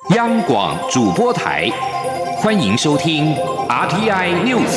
央广主播台，欢迎收听 RTI News。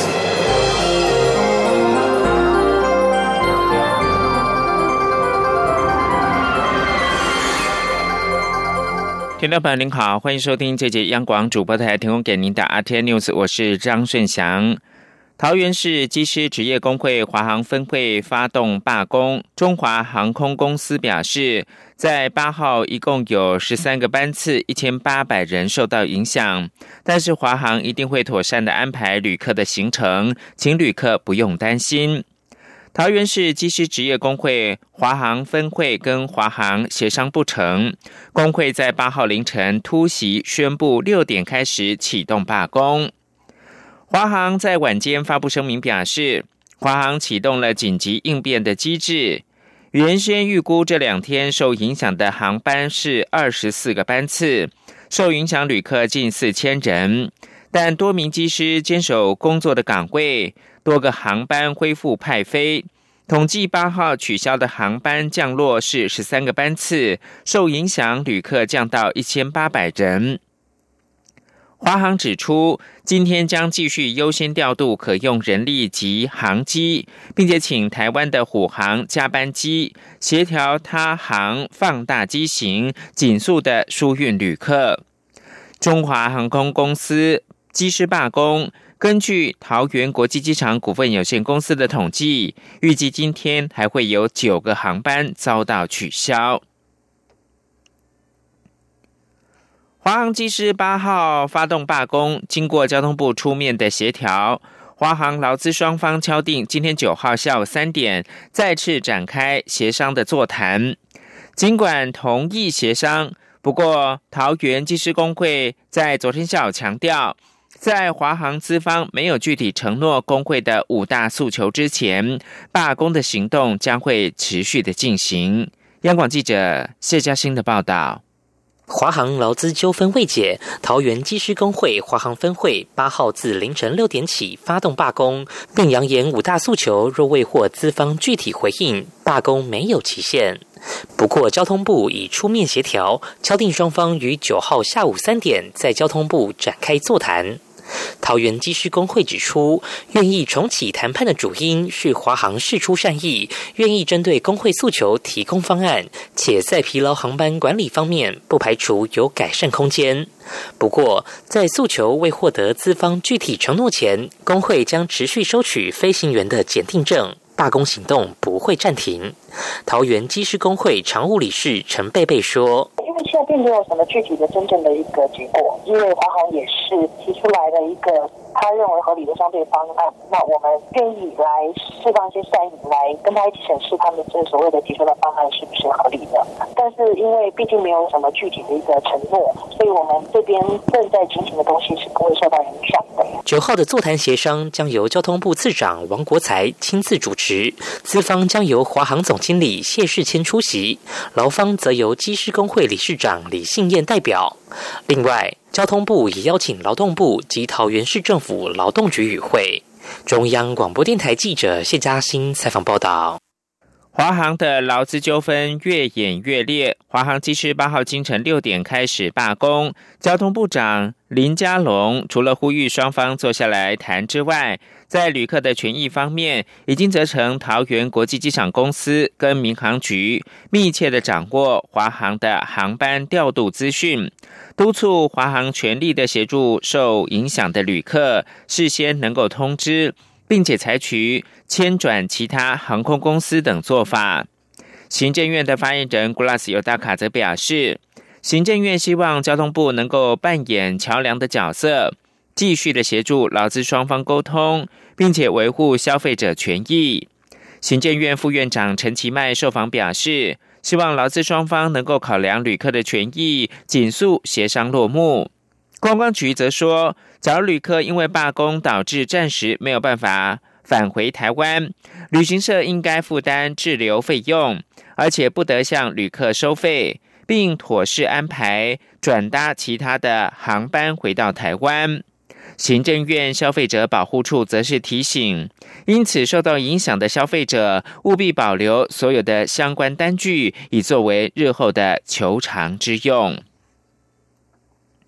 听众朋友您好，欢迎收听这节央广主播台提供给您的 RTI News， 我是张顺祥。桃园市机师职业工会华航分会发动罢工，中华航空公司表示，在8号一共有13个班次，1800人受到影响，但是华航一定会妥善的安排旅客的行程，请旅客不用担心。桃园市机师职业工会华航分会跟华航协商不成，工会在8号凌晨突袭，宣布6点开始启动罢工。华航在晚间发布声明表示，华航启动了紧急应变的机制，原先预估这2天受影响的航班是24个班次，受影响旅客近4000人，但多名机师坚守工作的岗位，多个航班恢复派飞。统计8号取消的航班降落是13个班次，受影响旅客降到1800人。华航指出，今天将继续优先调度可用人力及航机，并且请台湾的虎航加班机协调他航放大机型，紧速的疏运旅客。中华航空公司机师罢工，根据桃园国际机场股份有限公司的统计，预计今天还会有9个航班遭到取消。华航机师8号发动罢工，经过交通部出面的协调，华航劳资双方敲定今天9号下午3点再次展开协商的座谈。尽管同意协商，不过桃园机师工会在昨天下午强调，在华航资方没有具体承诺工会的5大诉求之前，罢工的行动将会持续的进行。央广记者谢嘉欣的报道。 华航劳资纠纷未解，桃园机师工会华航分会8号自凌晨6点起发动罢工，并扬言5大诉求若未获资方具体回应，罢工没有期限。不过交通部已出面协调，敲定双方于9号下午3点在交通部展开座谈。桃园机师工会指出，愿意重启谈判的主因是华航释出善意，愿意针对工会诉求提供方案，且在疲劳航班管理方面不排除有改善空间。不过，在诉求未获得资方具体承诺前，工会将持续收取飞行员的检定证，罢工行动不会暂停。桃园机师工会常务理事陈贝贝说， 因为现在并没有什么具体的真正的一个结果，因为华航也是提出来的一个他认为合理的相对方案，那我们愿意来释放一些善意，来跟他一起审视他们这所谓的提出的方案是不是合理的。但是因为毕竟没有什么具体的一个承诺，所以我们这边正在进行的东西是不会受到影响的。 9号的座谈协商将由交通部次长王国材亲自主持，资方将由华航总经理谢世谦出席，劳方则由机师工会理事长李信燕代表。另外，交通部也邀请劳动部及桃园市政府劳动局与会。中央广播电台记者谢嘉欣采访报道。 华航的劳资纠纷越演越烈，华航机师8号清晨6点开始罢工。交通部长林佳龙除了呼吁双方坐下来谈之外，在旅客的权益方面，已经责成桃园国际机场公司跟民航局密切的掌握华航的航班调度资讯，督促华航全力的协助受影响的旅客事先能够通知，并且采取迁转其他航空公司等做法。行政院的发言人古拉斯尤达卡则表示，行政院希望交通部能够扮演桥梁的角色，继续的协助劳资双方沟通，并且维护消费者权益。行政院副院长陈其迈受访表示，希望劳资双方能够考量旅客的权益，紧速协商落幕。观光局则说，假如旅客因为罢工导致暂时没有办法返回台湾，旅行社应该负担滞留费用，而且不得向旅客收费，并妥善安排转搭其他的航班回到台湾。行政院消费者保护处则是提醒，因此受到影响的消费者务必保留所有的相关单据，以作为日后的求偿之用。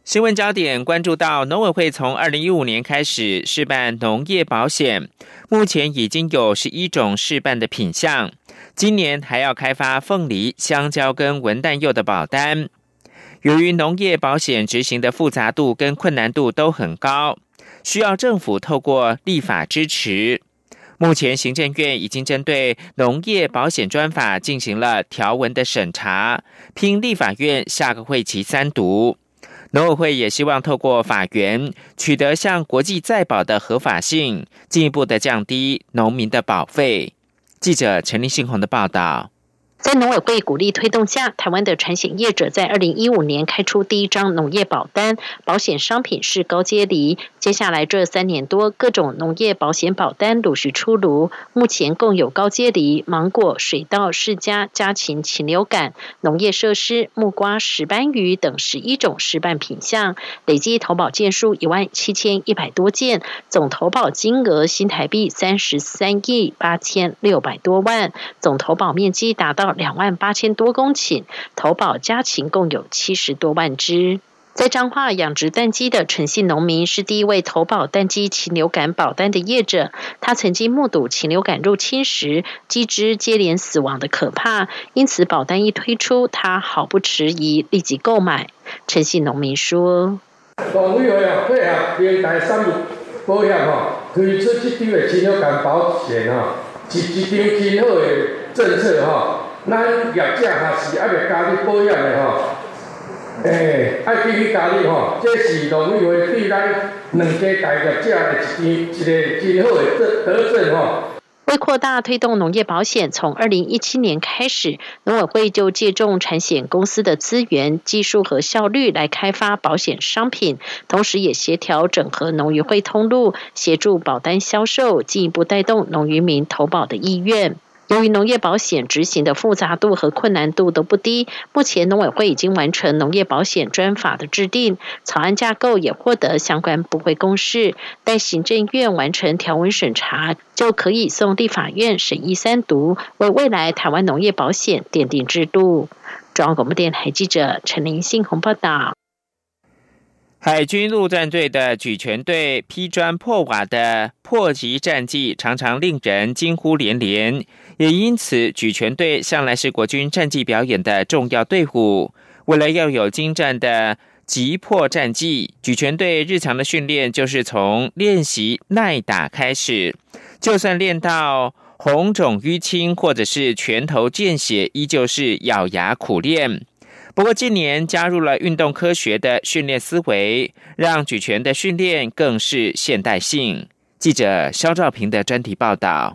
新闻焦点关注到，农委会从2015年开始试办农业保险，目前已经有11种试办的品项，今年还要开发凤梨、香蕉跟文旦柚的保单。由于农业保险执行的复杂度跟困难度都很高，需要政府透过立法支持。目前行政院已经针对农业保险专法进行了条文的审查，拼立法院下个会期3读。农委会也希望透过法源取得向国际再保的合法性，进一步的降低农民的保费。记者陈立信宏的报道。 在农委会鼓励推动下，台湾的产险业者在2015年开出第一张农业保单，保险商品是高阶梨。接下来这3年多，各种农业保险保单陆续出炉，目前共有高阶梨、芒果、水稻、释迦、家禽、禽流感、农业设施、木瓜、石斑鱼等11种试办品项，累计投保件数17100多件，总投保金额新台币33亿8600多万，总投保面积达到28000多公顷，投保家禽共有70多万只。在彰化养殖蛋鸡的陈姓农民是第一位投保蛋鸡禽流感保单的业者，他曾经目睹禽流感入侵时鸡只接连死亡的可怕，因此保单一推出，他毫不迟疑立即购买。陈姓农民说： 农委会配合明代产业保险推出这张的禽流感保险是一张真好的政策咱业者也是还未加入保险的爱继续加入这是农委会对咱两家大业者的一个真好的德政为扩大推动农业保险，从2017年开始，农委会就借重产险公司的资源、技术和效率来开发保险商品，同时也协调整合农渔会通路，协助保单销售，进一步带动农渔民投保的意愿。由于农业保险执行的复杂度和困难度都不低，目前农委会已经完成农业保险专法的制定，草案架构也获得相关部会公示，待行政院完成条文审查，就可以送立法院审议3读，为未来台湾农业保险奠定制度。中央广播电台记者陈林信宏报道。 海军陆战队的举拳队劈砖破瓦的破击战绩常常令人惊呼连连，也因此举拳队向来是国军战绩表演的重要队伍。为了要有精湛的击破战绩，举拳队日常的训练就是从练习耐打开始，就算练到红肿淤青或者是拳头见血，依旧是咬牙苦练。不过近年加入了运动科学的训练思维，让举拳的训练更是现代性。记者肖兆平的专题报道。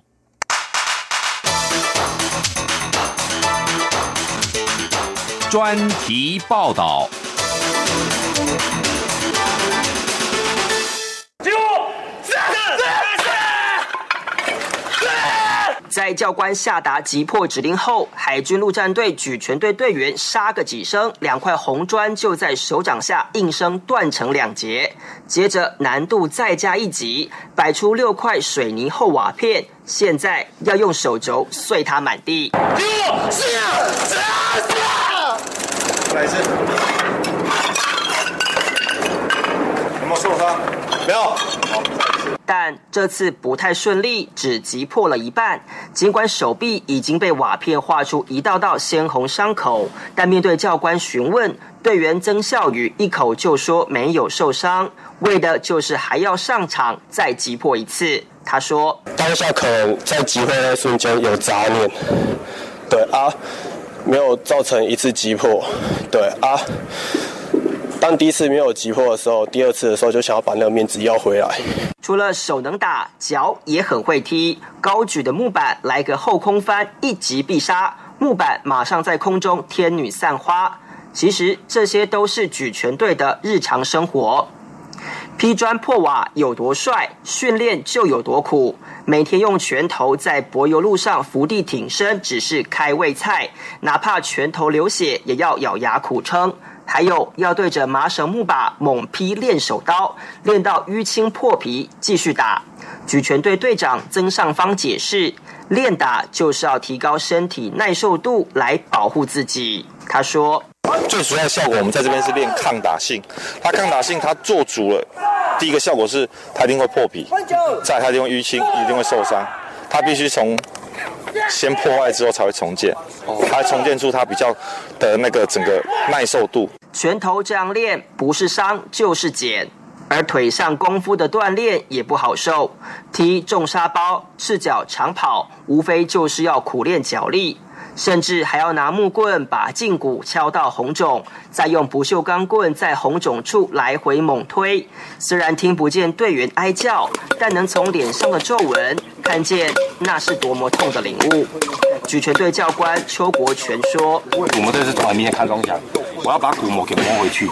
专题报道。 在教官下达击破指令后，海军陆战队举拳队队员杀个几声，2块红砖就在手掌下应声断成2截。接着难度再加一级，摆出6块水泥厚瓦片，现在要用手肘碎它满地。 来一次，有没有受伤？没有。好。 但这次不太顺利，只击破了一半。尽管手臂已经被瓦片划出一道道鲜红伤口，但面对教官询问，队员曾孝宇一口就说没有受伤，为的就是还要上场再击破一次。他说： 当下可能在击破那瞬间有杂念，对啊，没有造成一次击破，对啊。当第一次没有击破的时候，第2次的时候就想要把那个面子要回来。 除了手能打，脚也很会踢。高举的木板来个后空翻，一击必杀，木板马上在空中天女散花。其实这些都是举拳队的日常生活。劈砖破瓦有多帅，训练就有多苦。每天用拳头在柏油路上伏地挺身，只是开胃菜，哪怕拳头流血，也要咬牙苦撑。还有要对着麻绳木把猛劈练手刀，练到淤青破皮继续打。举拳队队长曾尚方解释，练打就是要提高身体耐受度来保护自己。他说： 最主要的效果，我们在这边是练抗打性。它抗打性，它做足了，第一个效果是它一定会破皮，再来它一定会淤青，一定会受伤。它必须从先破坏之后才会重建，它重建出它比较的那个整个耐受度。 拳头这样练，不是伤就是减。而腿上功夫的锻炼也不好受，踢重沙包、赤脚长跑，无非就是要苦练脚力，甚至还要拿木棍把胫骨敲到红肿，再用不锈钢棍在红肿处来回猛推。虽然听不见队员哀叫，但能从脸上的皱纹看见那是多么痛的领悟。举拳队教官邱国全说：“ 鼓膜队是从来明天看中奖，我要把鼓膜给磨回去，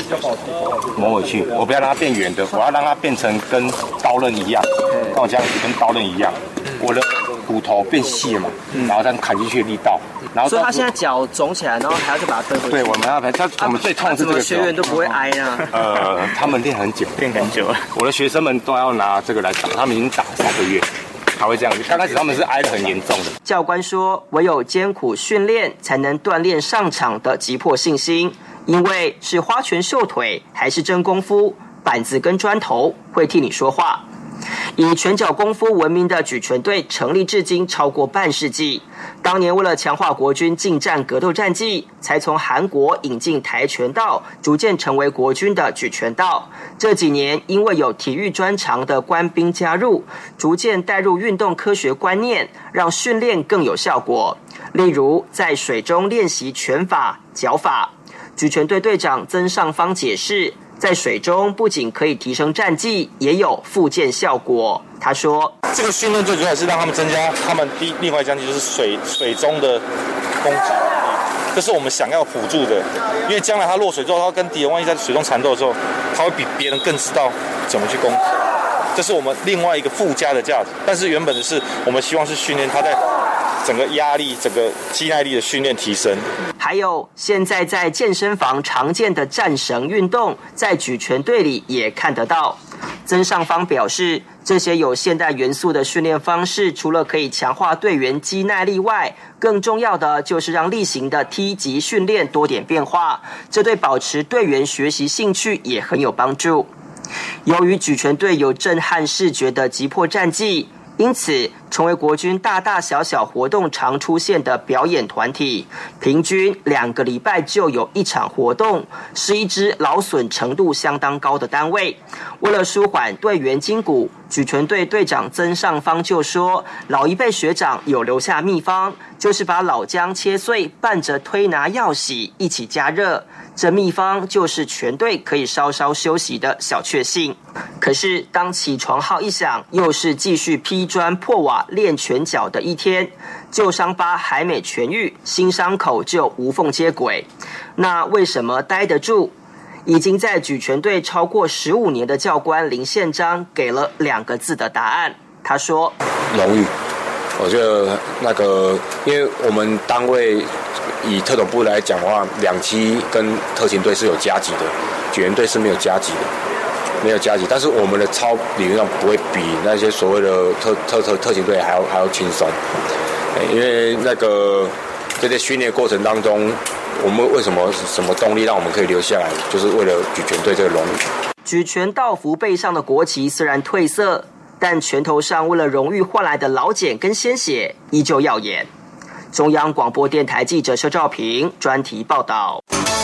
我不要让它变圆的，我要让它变成跟刀刃一样，像我这样子跟刀刃一样，我的骨头变细了嘛，然后再砍进去的力道。然后所以他现在脚肿起来，然后还要再把它推回去。 对，我们要我们最痛的是这个学员都不会挨呢。 他们练很久了。我的学生们都要拿这个来打，他们已经打3个月。”还会这样，刚开始他们是挨得很严重的。 教官说，唯有艰苦训练，才能锻炼上场的急迫信心。因为是花拳绣腿，还是真功夫，板子跟砖头会替你说话。以拳脚功夫闻名的举拳队成立至今超过半世纪。当年为了强化国军近战格斗战绩，才从韩国引进跆拳道，逐渐成为国军的举拳道。这几年因为有体育专长的官兵加入，逐渐带入运动科学观念，让训练更有效果。例如在水中练习拳法、脚法。举拳队队长曾尚方解释，在水中不仅可以提升战绩，也有复健效果。他说：“ 这个训练最主要是让他们增加他们另外一项就是水中的攻击能力，这是我们想要辅助的。因为将来他落水之后，他跟敌人万一在水中缠斗的时候，他会比别人更知道怎么去攻击。这是我们另外一个附加的价值。但是原本的是我们希望是训练他在整个压力、整个肌耐力的训练提升。” 还有现在在健身房常见的战绳运动，在举拳队里也看得到。曾尚方表示，这些有现代元素的训练方式，除了可以强化队员肌耐力外，更重要的就是让例行的梯级训练多点变化，这对保持队员学习兴趣也很有帮助。由于举拳队有震撼视觉的急迫战绩，因此成为国军大大小小活动常出现的表演团体，平均2个礼拜就有1场活动，是一支劳损程度相当高的单位。为了舒缓队员筋骨，举拳队队长曾尚方就说，老一辈学长有留下秘方，就是把老姜切碎，拌着推拿药洗一起加热。这秘方就是全队可以稍稍休息的小确幸。可是当起床号一响，又是继续劈砖破瓦练拳脚的一天，旧伤疤还没痊愈，新伤口就无缝接轨。那为什么待得住？已经在举拳队超过15年的教官林宪章给了2个字的答案。他说：“ 荣誉。我觉得因为我们单位以特种部来讲的话，2期跟特勤队是有加级的，举拳队是没有加级的，但是我们的操理论上不会比那些所谓的特勤队还要轻松，因为这些训练过程当中，我们为什么动力让我们可以留下来，就是为了举拳队这个荣誉。 举拳道服背上的国旗虽然褪色，但拳头上为了荣誉换来的劳茧跟鲜血依旧耀眼。中央广播电台记者邱兆平专题报道。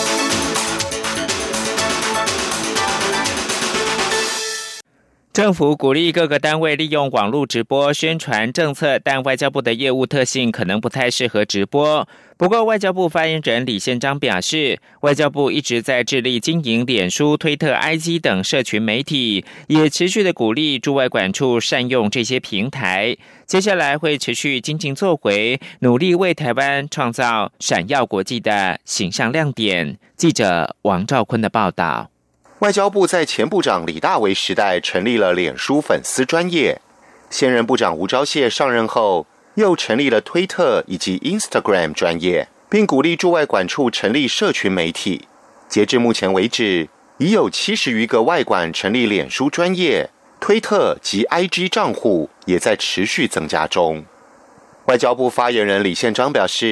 政府鼓励各个单位利用网络直播宣传政策，但外交部的业务特性可能不太适合直播。不过外交部发言人李宪章表示，外交部一直在致力经营脸书、推特、IG 等社群媒体，也持续的鼓励驻外管处善用这些平台。接下来会持续精进作为，努力为台湾创造闪耀国际的形象亮点。记者王兆坤的报道。 外交部在前部长李大为时代成立了脸书粉丝专页，现任部长吴钊燮上任后又成立了推特以及 Instagram 专页，并鼓励驻外管处成立社群媒体。截至目前为止，已有70余个外管成立脸书专页、推特及 IG 账户，也在持续增加中。外交部发言人李宪章表示，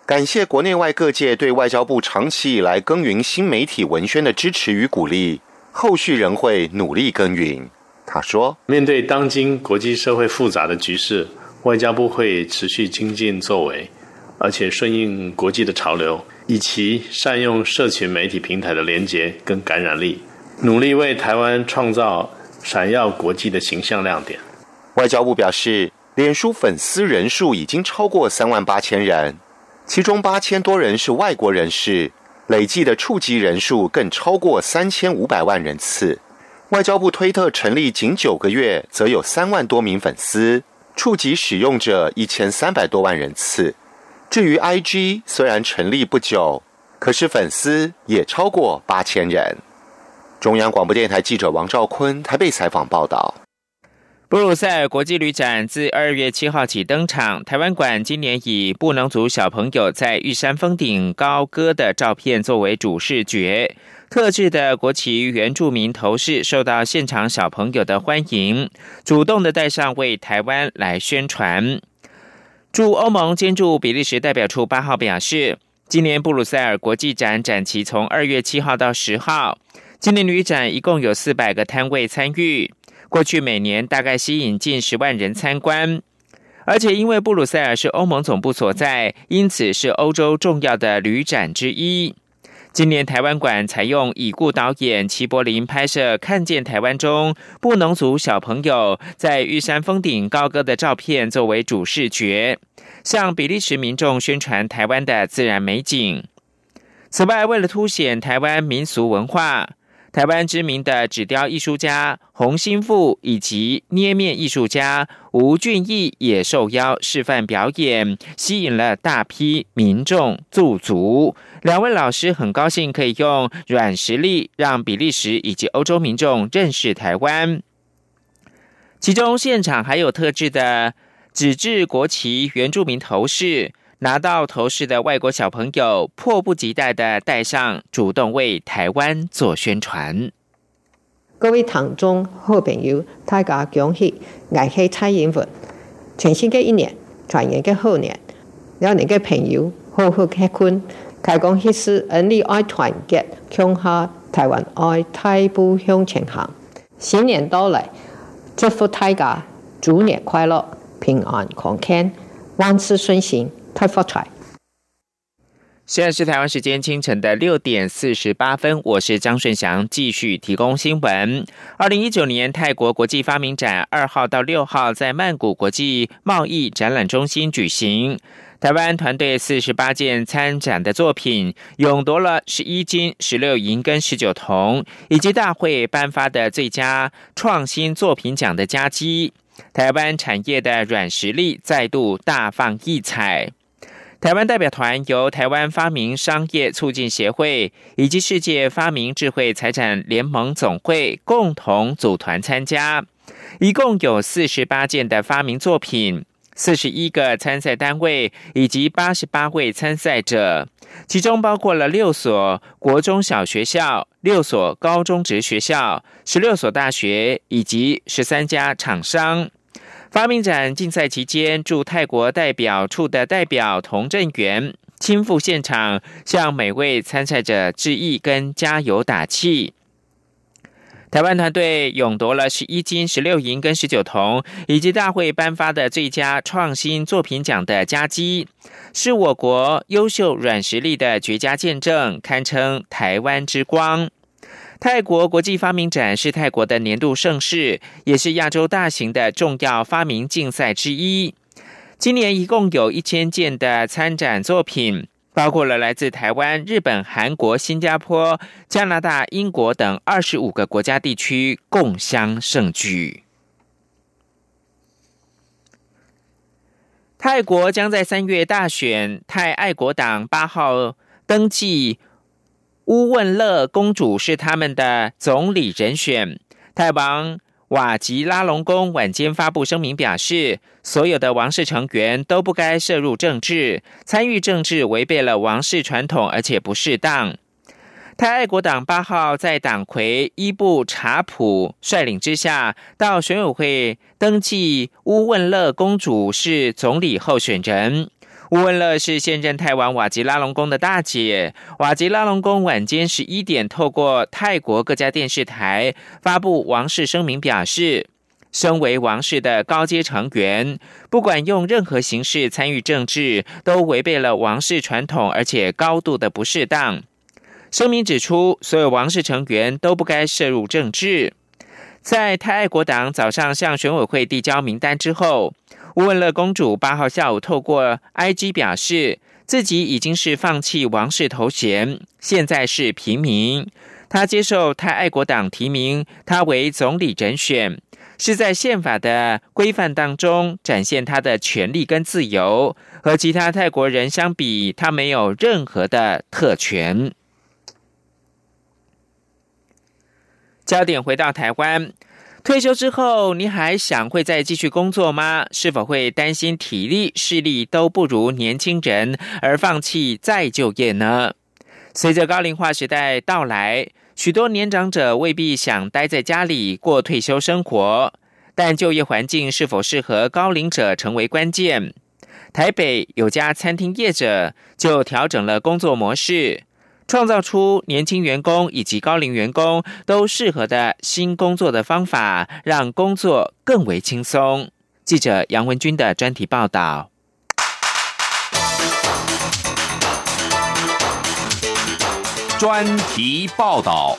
感谢国内外各界对外交部长期以来耕耘新媒体文宣的支持与鼓励，后续仍会努力耕耘。他说， 面对当今国际社会复杂的局势，外交部会持续精进作为，而且顺应国际的潮流，以其善用社群媒体平台的连结跟感染力，努力为台湾创造闪耀国际的形象亮点。 外交部表示，脸书粉丝人数已经超过38000人，其中8000多人是外国人士，累计的触及人数更超过3500万人次。外交部推特成立仅9个月，则有3万多名粉丝，触及使用者1300多万人次。至于 IG， 虽然成立不久，可是粉丝也超过8000人。中央广播电台记者王兆坤台北采访报道。 布鲁塞尔国际旅展自2月7号起登场，台湾馆今年以布农族小朋友在玉山峰顶高歌的照片作为主视觉，特制的国旗原住民头饰受到现场小朋友的欢迎，主动的戴上为台湾来宣传。驻欧盟兼驻比利时代表处8号表示，今年布鲁塞尔国际展展期从2月7号到10号，今年旅展一共有400个摊位参与，过去每年大概吸引近10万人参观，而且因为布鲁塞尔是欧盟总部所在，因此是欧洲重要的旅展之一。今年台湾馆采用已故导演齐柏林拍摄《看见台湾》中布农族小朋友在玉山峰顶高歌的照片作为主视觉，向比利时民众宣传台湾的自然美景。此外，为了凸显台湾民俗文化，台湾知名的纸雕艺术家洪新富以及捏面艺术家吴俊义也受邀示范表演，吸引了大批民众驻足。两位老师很高兴可以用软实力让比利时以及欧洲民众认识台湾。其中现场还有特制的纸质国旗原住民头饰，拿到头饰的外国小朋友迫不及待的戴上，主动为台湾做宣传。 各位聽眾好朋友，大家恭喜！我係蔡英文，全新嘅一年，全新嘅好年，兩年嘅朋友好好結婚，開講迄時恩利愛團結，強下台灣愛大步向前行。新年到來，祝福大家豬年快樂，平安康健，萬事順心。太發財！ 现在是台湾时间清晨的6点48分，我是张顺祥，继续提供新闻。2019年泰国国际发明展2号到6号在曼谷国际贸易展览中心举行。台湾团队48件参展的作品，勇夺了11金、16银跟19铜，以及大会颁发的最佳创新作品奖的佳绩。台湾产业的软实力再度大放异彩。台湾代表团由台湾发明商业促进协会以及世界发明智慧财产联盟总会共同组团参加，一共有48件的发明作品，41个参赛单位以及88位参赛者，其中包括了6所国中小学校、6所高中职学校、16所大学以及13家厂商。发明展竞赛期间，驻泰国代表处的代表童振源亲赴现场，向每位参赛者致意跟加油打气。台湾团队勇夺了11金、16银跟19铜，以及大会颁发的最佳创新作品奖的佳绩，是我国优秀软实力的绝佳见证，堪称台湾之光。泰国国际发明展是泰国的年度盛事，也是亚洲大型的重要发明竞赛之一。今年一共有1000件的参展作品，包括了来自台湾、日本、韩国、新加坡、加拿大、英国等25个国家地区共襄盛举。泰国将在3月大选，泰爱国党8号登记乌汶勒公主是他们的总理人选。泰王瓦吉拉隆功晚间发布声明表示，所有的王室成员都不该涉入政治，参与政治违背了王室传统，而且不适当。泰爱国党8号在党魁伊布查普率领之下，到选委会登记乌汶勒公主是总理候选人。 乌汶乐是现任泰王瓦吉拉隆功的大姐。瓦吉拉隆功晚间11点透过泰国各家电视台发布王室声明，表示身为王室的高阶成员，不管用任何形式参与政治，都违背了王室传统，而且高度的不适当。声明指出，所有王室成员都不该涉入政治。在泰爱国党早上向选委会递交名单之后，乌汶乐公主8号下午透过 IG 表示，自己已经是放弃王室头衔，现在是平民。她接受泰爱国党提名她为总理人选，是在宪法的规范当中展现她的权利跟自由，和其他泰国人相比，她没有任何的特权。焦点回到台湾，退休之后，你还想会再继续工作吗？是否会担心体力、视力都不如年轻人而放弃再就业呢？随着高龄化时代到来，许多年长者未必想待在家里过退休生活，但就业环境是否适合高龄者成为关键。台北有家餐厅业者就调整了工作模式，创造出年轻员工以及高龄员工都适合的新工作的方法，让工作更为轻松。记者杨文君的专题报道。 专题报道。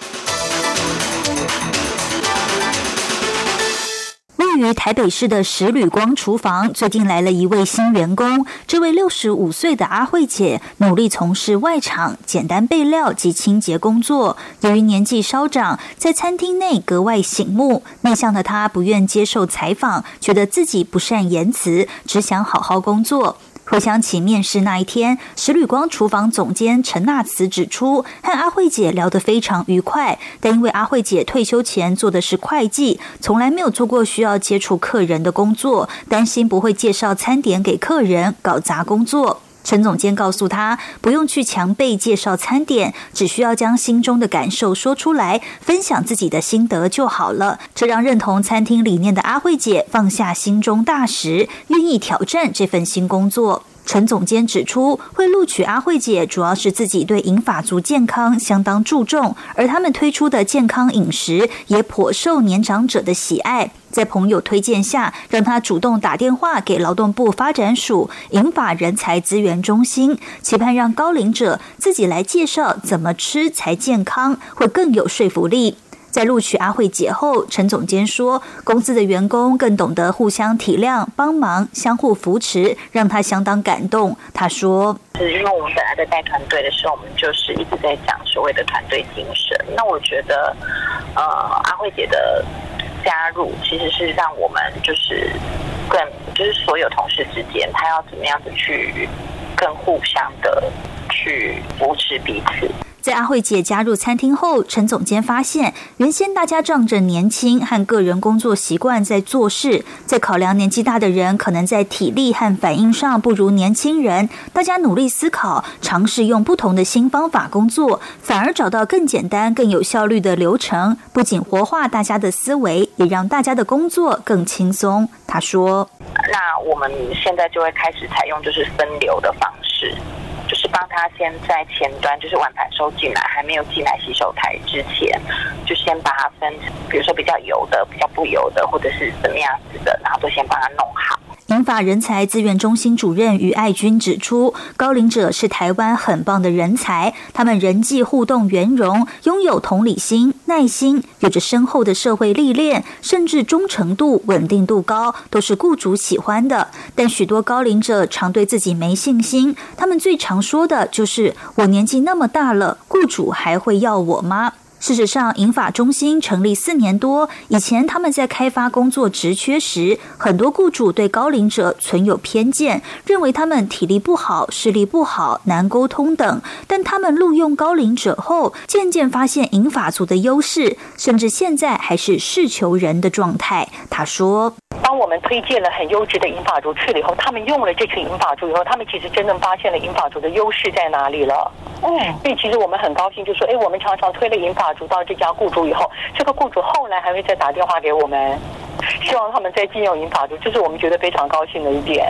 位于台北市的十旅光厨房最近来了一位新员工，这位65岁的阿慧姐努力从事外场简单备料及清洁工作。由于年纪稍长，在餐厅内格外醒目，内向的她不愿接受采访，觉得自己不善言辞，只想好好工作。回想起面试那一天，十旅光厨房总监陈纳慈指出，和阿慧姐聊得非常愉快，但因为阿慧姐退休前做的是会计，从来没有做过需要接触客人的工作，担心不会介绍餐点给客人，搞砸工作。陈总监告诉他，不用去强背介绍餐点，只需要将心中的感受说出来，分享自己的心得就好了。这让认同餐厅理念的阿慧姐放下心中大石，愿意挑战这份新工作。陈总监指出，会录取阿慧姐主要是自己对银发族健康相当注重，而他们推出的健康饮食也颇受年长者的喜爱。在朋友推荐下，让他主动打电话给劳动部发展署银发人才资源中心，期盼让高龄者自己来介绍怎么吃才健康，会更有说服力。在录取阿慧姐后，陈总监说，公司的员工更懂得互相体谅、帮忙、相互扶持，让他相当感动。他说， 是因为我们本来在带团队的时候，我们就是一直在讲所谓的团队精神。那我觉得，阿慧姐的加入其实是让我们就是所有同事之间，他要怎么样子去更互相的去扶持彼此。 在阿慧姐加入餐厅后，陈总监发现，原先大家仗着年轻和个人工作习惯在做事，在考量年纪大的人可能在体力和反应上不如年轻人，大家努力思考，尝试用不同的新方法工作，反而找到更简单、更有效率的流程，不仅活化大家的思维，也让大家的工作更轻松。他说， 那我们现在就会开始采用就是分流的方式，就是帮他先在前端，就是碗盘收进来，还没有进来洗手台之前，就先把它分，比如说比较油的、比较不油的，或者是怎么样子的，然后都先帮他弄好。 银发人才资源中心主任于爱君指出，高龄者是台湾很棒的人才，他们人际互动圆融，拥有同理心、耐心，有着深厚的社会历练，甚至忠诚度、稳定度高，都是雇主喜欢的。但许多高龄者常对自己没信心，他们最常说的就是“我年纪那么大了，雇主还会要我吗？”事实上，银发中心成立4年多，以前他们在开发工作职缺时，很多雇主对高龄者存有偏见，认为他们体力不好、视力不好、难沟通等。但他们录用高龄者后，渐渐发现银发族的优势，甚至现在还是事求人的状态。他说， 当我们推荐了很优质的银发族去了以后，他们用了这群银发族以后，他们其实真正发现了银发族的优势在哪里了。所以其实我们很高兴，就说，我们常常推了银发族到这家雇主以后，这个雇主后来还会再打电话给我们，希望他们再聘用银发族，这是我们觉得非常高兴的一点。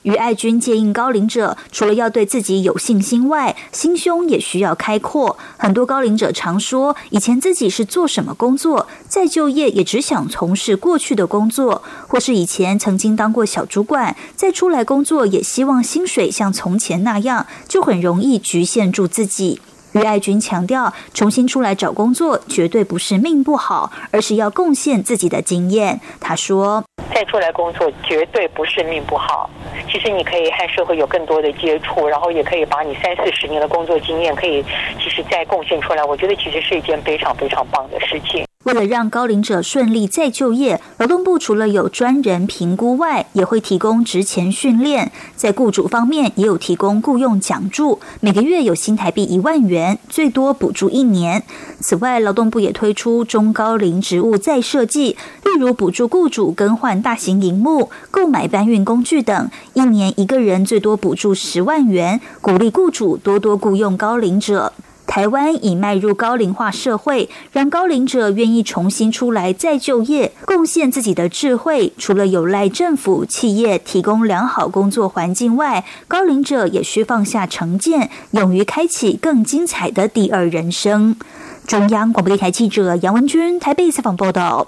于爱君建议高龄者除了要对自己有信心外，心胸也需要开阔。很多高龄者常说，以前自己是做什么工作，再就业也只想从事过去的工作，或是以前曾经当过小主管，再出来工作也希望薪水像从前那样，就很容易局限住自己。于爱君强调，重新出来找工作绝对不是命不好，而是要贡献自己的经验。他说， 再出来工作绝对不是命不好，其实你可以和社会有更多的接触，然后也可以把你30-40年的工作经验可以其实再贡献出来，我觉得其实是一件非常非常棒的事情。 为了让高龄者顺利再就业，劳动部除了有专人评估外，也会提供职前训练。在雇主方面，也有提供雇用奖助，每个月有新台币1万元，最多补助1年。此外，劳动部也推出中高龄职务再设计，例如补助雇主更换大型萤幕、购买搬运工具等，1年一个人最多补助10万元，鼓励雇主多多雇用高龄者。台湾已迈入高龄化社会，让高龄者愿意重新出来再就业，贡献自己的智慧。除了有赖政府、企业提供良好工作环境外，高龄者也需放下成见，勇于开启更精彩的第二人生。中央广播电台记者杨文君台北采访报道。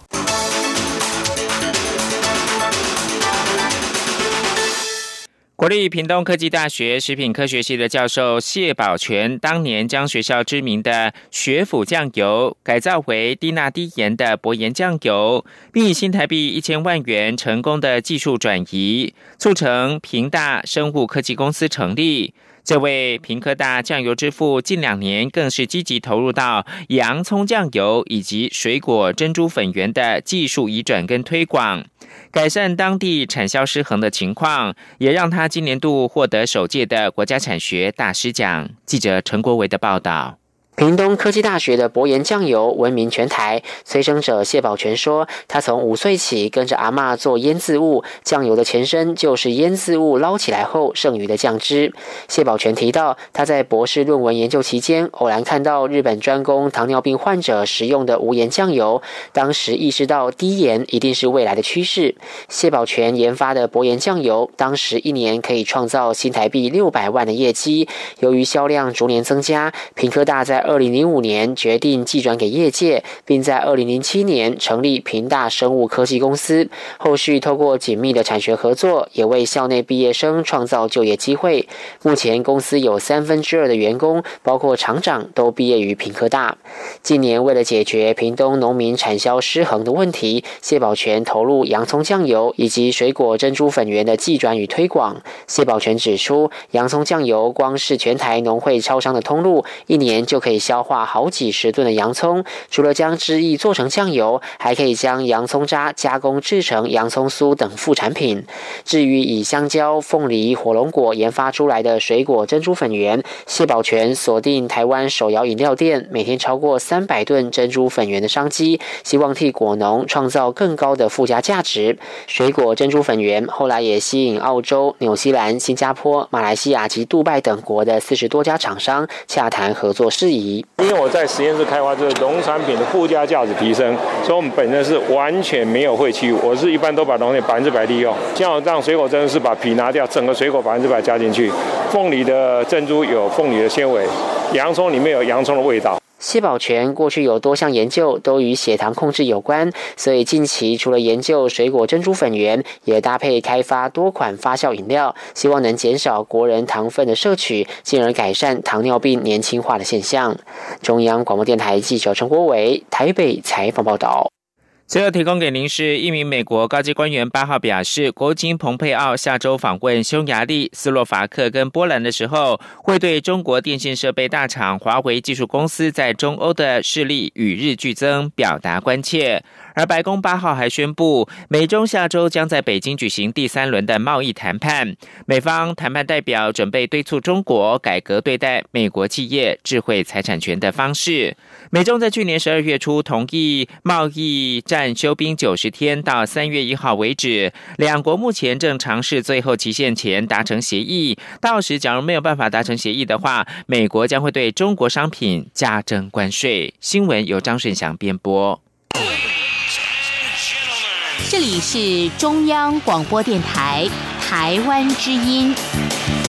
国立屏东科技大学食品科学系的教授谢宝全，当年将学校知名的学府酱油改造为低钠低盐的薄盐酱油，并以新台币1000万元成功的技术转移，促成屏大生物科技公司成立。这位屏科大酱油之父近2年更是积极投入到洋葱酱油以及水果珍珠粉圆的技术移转跟推广，改善当地产销失衡的情况，也让他今年度获得首届的国家产学大师奖。记者陈国维的报道。 屏东科技大学的薄盐酱油闻名全台，催生者谢宝全说，他从5岁起跟着阿嬷做腌渍物，酱油的前身就是腌渍物捞起来后剩余的酱汁。谢宝全提到，他在博士论文研究期间，偶然看到日本专供糖尿病患者食用的无盐酱油，当时意识到低盐一定是未来的趋势。谢宝全研发的薄盐酱油，当时1年可以创造新台币600万的业绩。由于销量逐年增加，屏科大在2005年决定寄转给业界，并在2007年成立屏大生物科技公司。后续透过紧密的产学合作，也为校内毕业生创造就业机会。目前公司有2/3的员工，包括厂长，都毕业于屏科大。近年为了解决屏东农民产销失衡的问题，谢宝全投入洋葱酱油以及水果珍珠粉圆的寄转与推广。谢宝全指出，洋葱酱油光是全台农会超商的通路，1年就可以消化好几十吨的洋葱，除了将汁液做成酱油，还可以将洋葱渣加工制成洋葱酥等副产品。至于以香蕉、凤梨、火龙果研发出来的水果珍珠粉圆，谢宝全锁定台湾手摇饮料店每天超过300吨珍珠粉圆的商机，希望替果农创造更高的附加价值。水果珍珠粉圆后来也吸引澳洲、纽西兰、新加坡、马来西亚及杜拜等国的40多家厂商洽谈合作事宜。 因为我在实验室开发这个农产品的附加价值提升，所以我们本身是完全没有废弃物，我是一般都把农业100%利用。像我这样水果真的是把皮拿掉，整个水果100%加进去。凤梨的珍珠有凤梨的纤维，洋葱里面有洋葱的味道。 谢宝全过去有多项研究都与血糖控制有关，所以近期除了研究水果珍珠粉圆，也搭配开发多款发酵饮料，希望能减少国人糖分的摄取，进而改善糖尿病年轻化的现象。中央广播电台记者陈国伟台北采访报道。 最后提供给您是一名美国高级官员8号表示，国务卿蓬佩奥下周访问匈牙利、斯洛伐克跟波兰的时候，会对中国电信设备大厂华为技术公司在中欧的势力与日俱增表达关切。而白宫8号还宣布，美中下周将在北京举行第3轮的贸易谈判，美方谈判代表准备敦促中国改革对待美国企业智慧财产权的方式。美中在去年12月初同意贸易战休兵90天，到3月1号为止，两国目前正尝试最后期限前达成协议，到时假如没有办法达成协议的话，美国将会对中国商品加征关税。新闻由张顺祥编播。 这里是中央广播电台台湾之音。